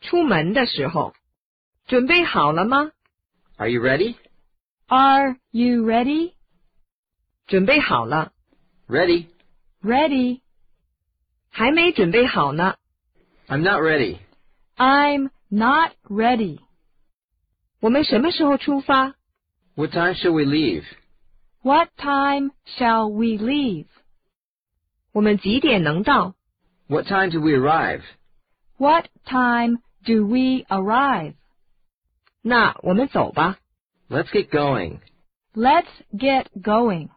出门的时候。准备好了吗？ Are you ready? Are you ready? 准备好了。 Ready. Ready. 还没准备好呢。 I'm not ready. I'm not ready. 我们什么时候出发？ What time shall we leave? What time shall we leave? 我们几点能到？ What time do we arrive? What time do we arrive? 那我们走吧。 Let's get going. Let's get going.